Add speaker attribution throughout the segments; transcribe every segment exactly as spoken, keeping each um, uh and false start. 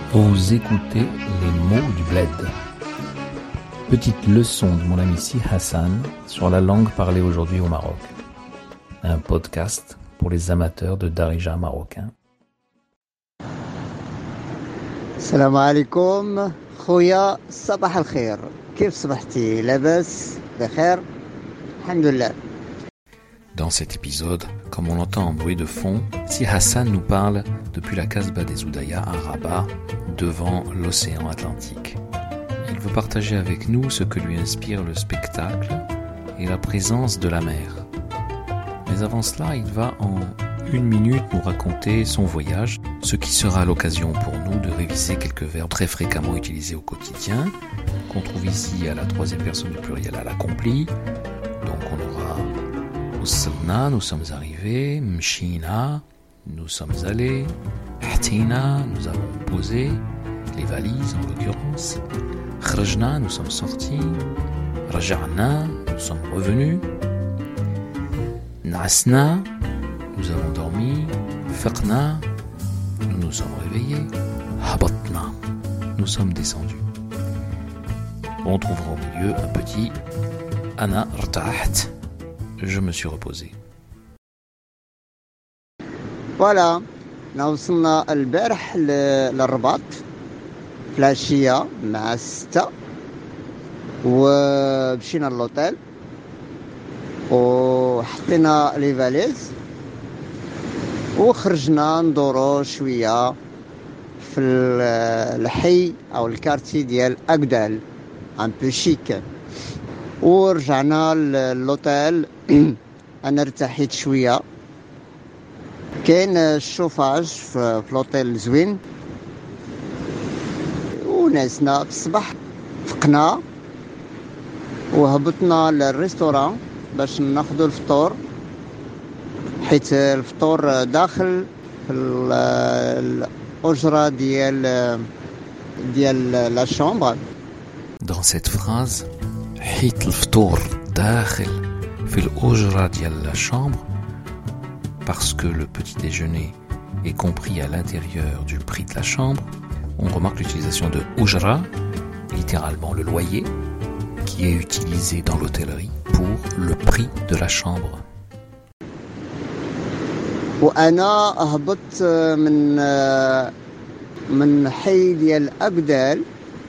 Speaker 1: Vous écoutez les mots du bled. Petite leçon de mon ami Si Hassan sur la langue parlée aujourd'hui au Maroc. Un podcast pour les amateurs de darija marocain.
Speaker 2: السلام عليكم خويا صباح الخير كيف صبحتي لاباس بخير الحمد لله.
Speaker 1: Dans cet épisode, comme on l'entend en bruit de fond, Si Hassan nous parle depuis la Casbah des Oudaya à Rabat, devant l'océan Atlantique. Il veut partager avec nous ce que lui inspire le spectacle et la présence de la mer. Mais avant cela, il va en une minute nous raconter son voyage, ce qui sera l'occasion pour nous de réviser quelques verbes très fréquemment utilisés au quotidien, qu'on trouve ici à la troisième personne du pluriel à l'accompli. Donc on aura Wassalna, nous sommes arrivés, Mshina, nous sommes allés, Hatina, nous avons posé, les valises en l'occurrence, Khrajna, nous sommes sortis, Raja'na, nous sommes revenus, Nasna, nous avons dormi, Faqna, nous nous sommes réveillés, Habatna, nous sommes descendus. On trouvera au milieu un petit Ana rtaht, je me suis reposé.
Speaker 2: فوالا وصلنا البارح للرباط في العشية مع الستة ومشينا للوطيل وحطينا لي فاليز وخرجنا ندورو شوية في الحي أو الكارتي ديال أكدال ان بو شيك ورجعنا للوطيل. انا ارتحيت شويه، كاين الشوفاج في لوطيل زوين وناسنا. في الصباح فقنا وهبطنا للريستوران باش ناخذوا الفطور، حيت الفطور داخل في الاجره ديال ديال لا شامبر.
Speaker 1: Dans cette phrase, حيت الفطور داخل في الأجرة ديال la chambre, parce que le petit déjeuner est compris à l'intérieur du prix de la chambre, on remarque l'utilisation de ujra, littéralement le loyer, qui est utilisé dans l'hôtellerie pour le prix de la chambre.
Speaker 2: وأنا هبطت من من حي ديال أكدال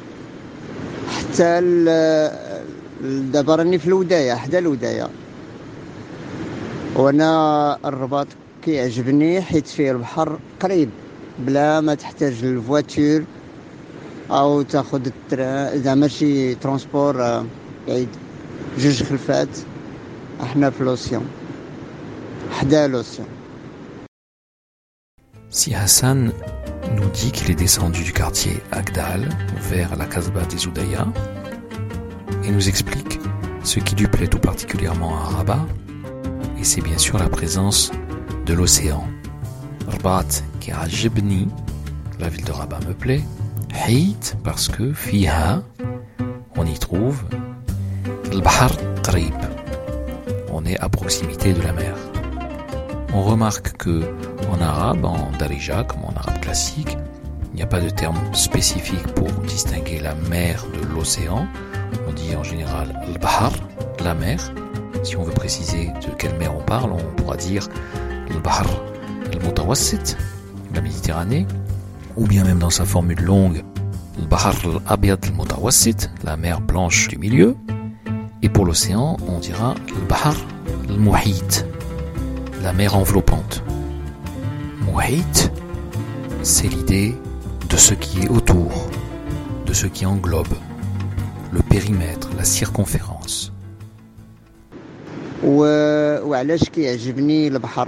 Speaker 2: حتى دابا راني في الوداية، حدا الوداية. وانا الرباط كيعجبني حيت فيه البحر قريب بلا ما تحتاج الفواتور او تاخذ التران، زعما شي ترونسبور بعيد. جوج خلفات احنا في لوسيون، حدا لوسيون.
Speaker 1: Si Hassan nous dit qu'il est descendu du quartier Agdal vers la Casbah des Oudaya et nous explique ce qui lui plaît tout particulièrement à Rabat, et c'est bien sûr la présence de l'océan. Rabat qui ajibni, la ville de Rabat me plaît. Hit parce que fiha, on y trouve al-bahar qarib, on est à proximité de la mer. On remarque que en arabe, en darija comme en arabe classique, il n'y a pas de terme spécifique pour distinguer la mer de l'océan. On dit en général al-bahar, la mer. Si on veut préciser de quelle mer on parle, on pourra dire al-bahar al-mutawassit, la Méditerranée, ou bien même dans sa formule longue, al-bahar al-abyad al-mutawassit, la mer blanche du milieu. Et pour l'océan, on dira al-bahar al-muhit, la mer enveloppante. Muhit, c'est l'idée de ce qui est autour, de ce qui englobe, le périmètre, la circonférence.
Speaker 2: وعلاش كيعجبني البحر؟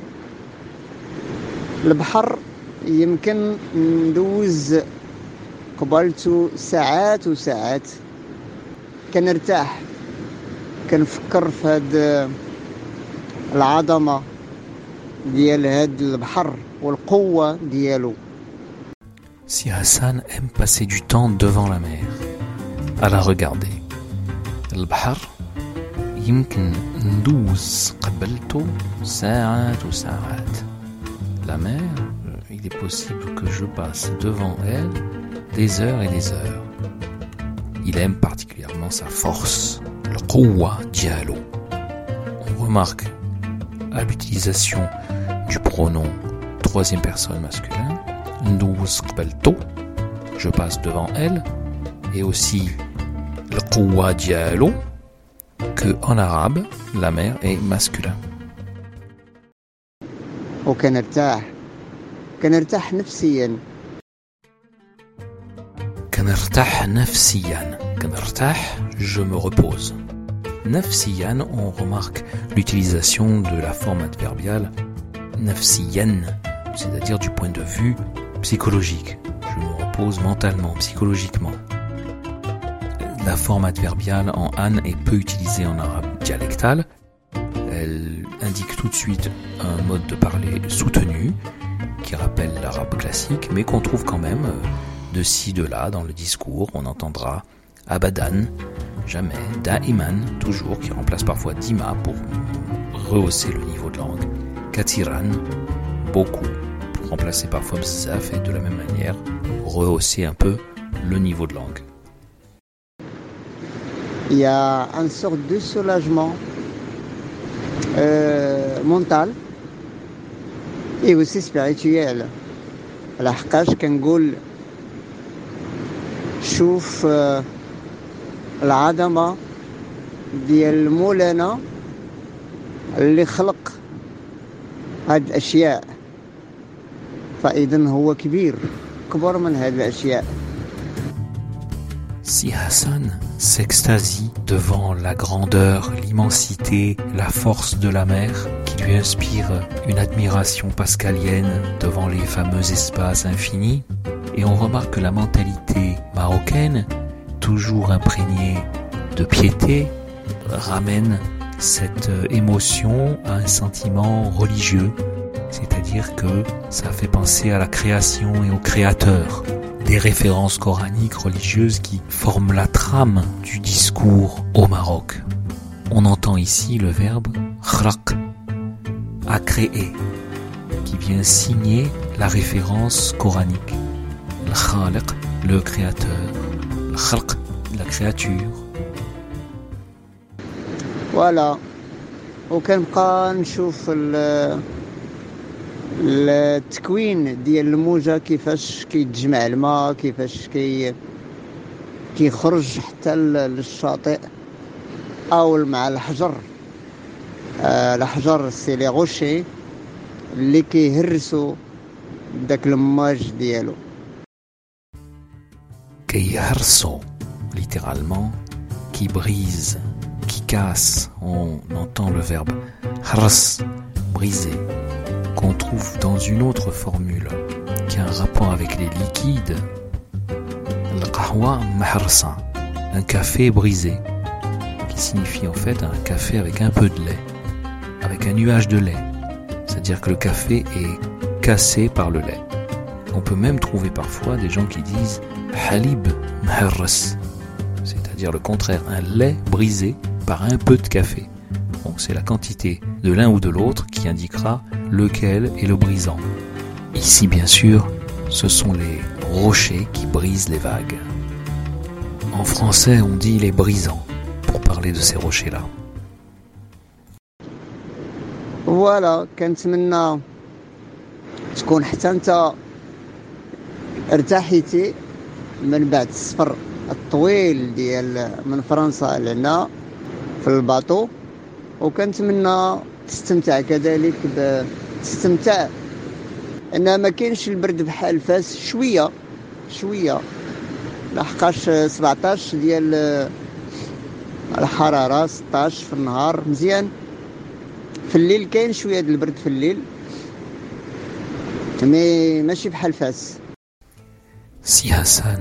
Speaker 2: البحر يمكن ندوز قبالته ساعات وساعات كنرتاح، كنفكر في هاد العظمة ديال هاد البحر والقوة ديالو.
Speaker 1: Si Hassan aime passer du temps devant la mer, à la regarder. البحر يمكن ندوز قبلته ساعات وساعات. La mer, il est possible que je passe devant elle des heures et des heures. Il aime particulièrement sa force, le quwwa dialo. On remarque à l'utilisation du pronom troisième personne masculin, ndouz qbalto, je passe devant elle, et aussi le quwwa dialo, que en arabe, la mère est masculin.
Speaker 2: وكنرتاح كنرتاح نفسيا
Speaker 1: كنرتاح نفسيا كنرتاح je me repose. Nafsiyan, on remarque l'utilisation de la forme adverbiale nafsiyan, c'est-à-dire du point de vue psychologique. Je me repose mentalement, psychologiquement. La forme adverbiale en an est peu utilisée en arabe dialectal. Elle indique tout de suite un mode de parler soutenu qui rappelle l'arabe classique, mais qu'on trouve quand même de ci, de là dans le discours. On entendra abadan, jamais, da'iman, toujours, qui remplace parfois dima pour rehausser le niveau de langue, katiran, beaucoup, pour remplacer parfois bzaf et de la même manière rehausser un peu le niveau de langue.
Speaker 2: Il y a une sorte de soulagement euh, mental et aussi spirituel. لحقاش كنقول شوف آه العظمة ديال المولانا اللي خلق هاد الأشياء فإذن هو كبير كبر من هاد الأشياء.
Speaker 1: Si Hassan s'extasie devant la grandeur, l'immensité, la force de la mer, qui lui inspire une admiration pascalienne devant les fameux espaces infinis, et on remarque que la mentalité marocaine, toujours imprégnée de piété, ramène cette émotion à un sentiment religieux, c'est-à-dire que ça fait penser à la création et au créateur. Des références coraniques religieuses qui forment la trame du discours au Maroc. On entend ici le verbe khraq, à créer, qui vient signer la référence coranique. Le khaliq, le créateur, le khalq, la créature.
Speaker 2: Voilà. وكنبقى نشوف التكوين ديال الموجة كيفاش كيتجمع الماء كيفاش كي كيخرج حتى للشاطئ او مع الحجر آه الحجر سي لي غوشي اللي كيهرسوا داك الماج ديالو
Speaker 1: كيهرسوا littéralement qui brise qui casse. On entend le verbe hars, briser, qu'on trouve dans une autre formule qui a un rapport avec les liquides, le qahwa mahrsa, un café brisé, qui signifie en fait un café avec un peu de lait, avec un nuage de lait, c'est-à-dire que le café est cassé par le lait. On peut même trouver parfois des gens qui disent halib mahrras, c'est-à-dire le contraire, un lait brisé par un peu de café. Donc c'est la quantité de l'un ou de l'autre qui indiquera lequel est le brisant. Ici, bien sûr, ce sont les rochers qui brisent les vagues. En français, on dit les brisants pour parler de ces rochers-là.
Speaker 2: Voilà, كنتمنى تكون حتى انت ارتاحيتي من بعد السفر الطويل ديال من فرنسا لهنا في الباطو وكنتمنى تستمتع كذلك ب... تستمتع ان ما كاينش البرد بحال فاس شويه شويه لحقاش سبعطاش ديال الحراره ستطاش في النهار مزيان في الليل كاين شويه د البرد في الليل مي ماشي بحال فاس.
Speaker 1: Si Hassan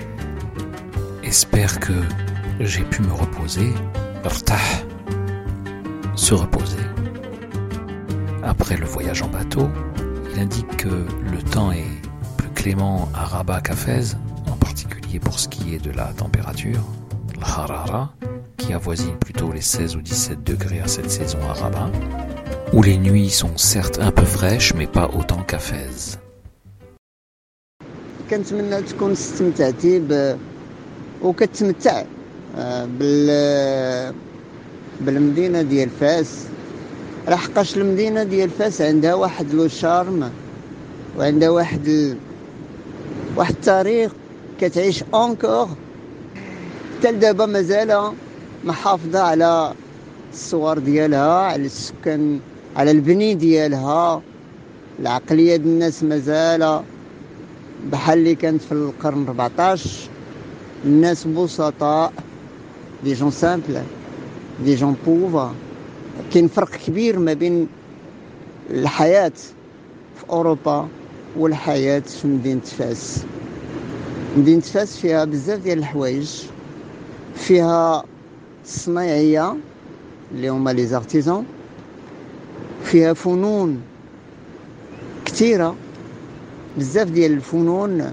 Speaker 1: espère que j'ai pu me reposer, irtah, se reposer. Après le voyage en bateau, il indique que le temps est plus clément à Rabat qu'à Fès, en particulier pour ce qui est de la température, le harara, qui avoisine plutôt les seize ou dix-sept degrés à cette saison à Rabat, où les nuits sont certes un peu fraîches, mais pas autant qu'à Fès.
Speaker 2: كنتمنى تكون استمتعتي ب وكتمتع بال بالمدينه ديال فاس، لحقاش المدينه ديال فاس عندها واحد لو شارم وعندها واحد ال... واحد التاريخ كتعيش اونكور حتى لدابا مازال محافظه على الصور ديالها، على السكان، على البني ديالها. العقليه ديال الناس مازال بحال اللي كانت في القرن أربعطاش. الناس بسطاء، دي جون سامبل، دي جون بوفر. كاين فرق كبير ما بين الحياه في اوروبا والحياه في مدينه فاس. مدينه فاس فيها بزاف ديال الحوايج، فيها الصنايعيه اللي هما لي زارتيزون، فيها فنون كثيره، بزاف ديال الفنون.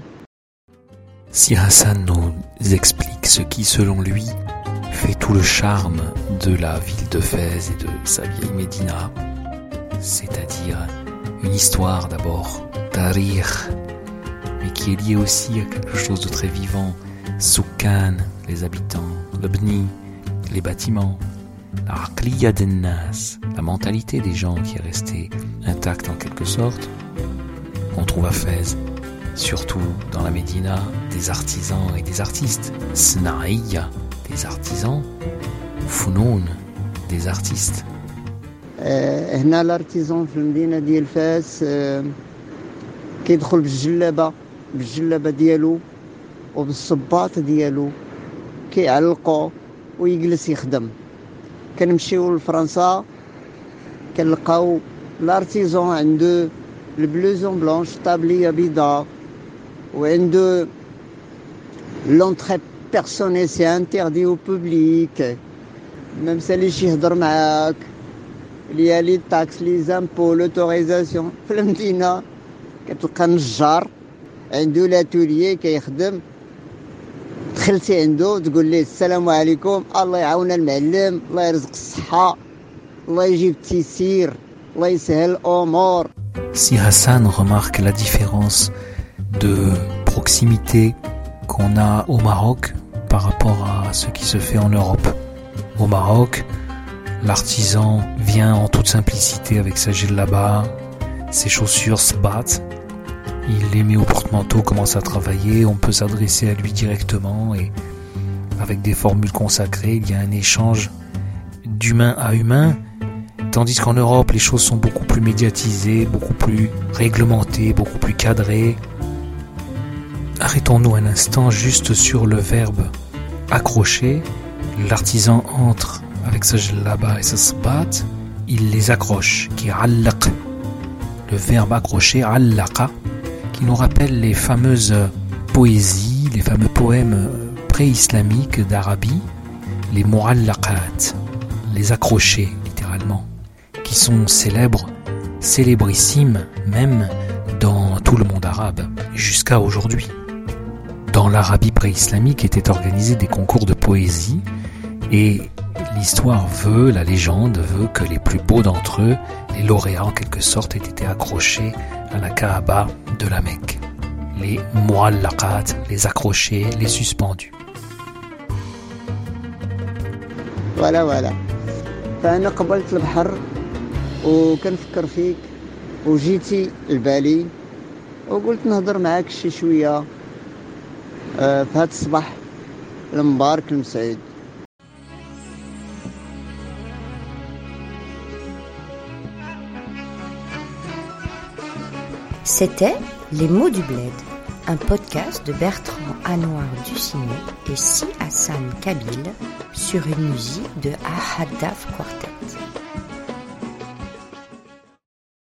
Speaker 1: Si Hassan nous explique ce qui, selon lui, fait tout le charme de la ville de Fès et de sa vieille Médina, c'est-à-dire une histoire d'abord, tarir, mais qui est liée aussi à quelque chose de très vivant, Soukan, les habitants, le Bni, les bâtiments, la aqliya den nas, la mentalité des gens qui est restée intacte en quelque sorte. On trouve à Fès, surtout dans la Médina, des artisans et des artistes, Snaïya, des artisans, Founoun, des artistes.
Speaker 2: هنا الارتيزون في المدينه ديال فاس كيدخل بالجلابه بالجلابه ديالو وبالصباط ديالو، كيعلقو ويجلس يخدم. كنمشيو لفرنسا كنلقاو الارتيزون عنده البلوزون بلونش، طابليه بيضاء، وعنده لونطري بيرسونيل سي انتردي او بوبليك، ما مساليش يهضر معاك، ليا لي تاكس لي زامبو لوتوريزاسيون. في المدينه كتلقى نجار عنده لاتوليي كيخدم، دخلتي عنده تقول ليه السلام عليكم، الله يعاون المعلم، الله يرزق الصحه، الله يجيب التيسير، الله يسهل الامور.
Speaker 1: Si Hassan remarque la différence de proximité qu'on a au Maroc par rapport à ce qui se fait en Europe. Au Maroc, l'artisan vient en toute simplicité avec sa djellaba, ses chaussures sbat, il les met au porte-manteau, commence à travailler, on peut s'adresser à lui directement et avec des formules consacrées, il y a un échange d'humain à humain. Tandis qu'en Europe, les choses sont beaucoup plus médiatisées, beaucoup plus réglementées, beaucoup plus cadrées. Arrêtons-nous un instant juste sur le verbe accrocher. L'artisan entre avec sa jellaba et sa sbat, il les accroche, qui allaq. Le verbe accrocher, allaqa, qui nous rappelle les fameuses poésies, les fameux poèmes pré-islamiques d'Arabie, les mu'allaqat, les accrochés, littéralement, qui sont célèbres, célébrissimes même dans tout le monde arabe, jusqu'à aujourd'hui. Dans l'Arabie pré-islamique étaient organisés des concours de poésie et l'histoire veut, la légende veut que les plus beaux d'entre eux, les lauréats en quelque sorte, aient été accrochés à la Kaaba de la Mecque. Les mu'allaqat, les accrochés, les suspendus.
Speaker 2: Voilà, voilà. فأنا قبلت البحر وكنفكر فيك وجيتي لبالي وقلت نهضر معاك شي شويه في هذا الصباح المبارك المسعود.
Speaker 3: C'était Les mots du bled, un podcast de Bertrand Anouar Ducinet et Si Hassan Kabil sur une musique de Ahad Daf Quartet.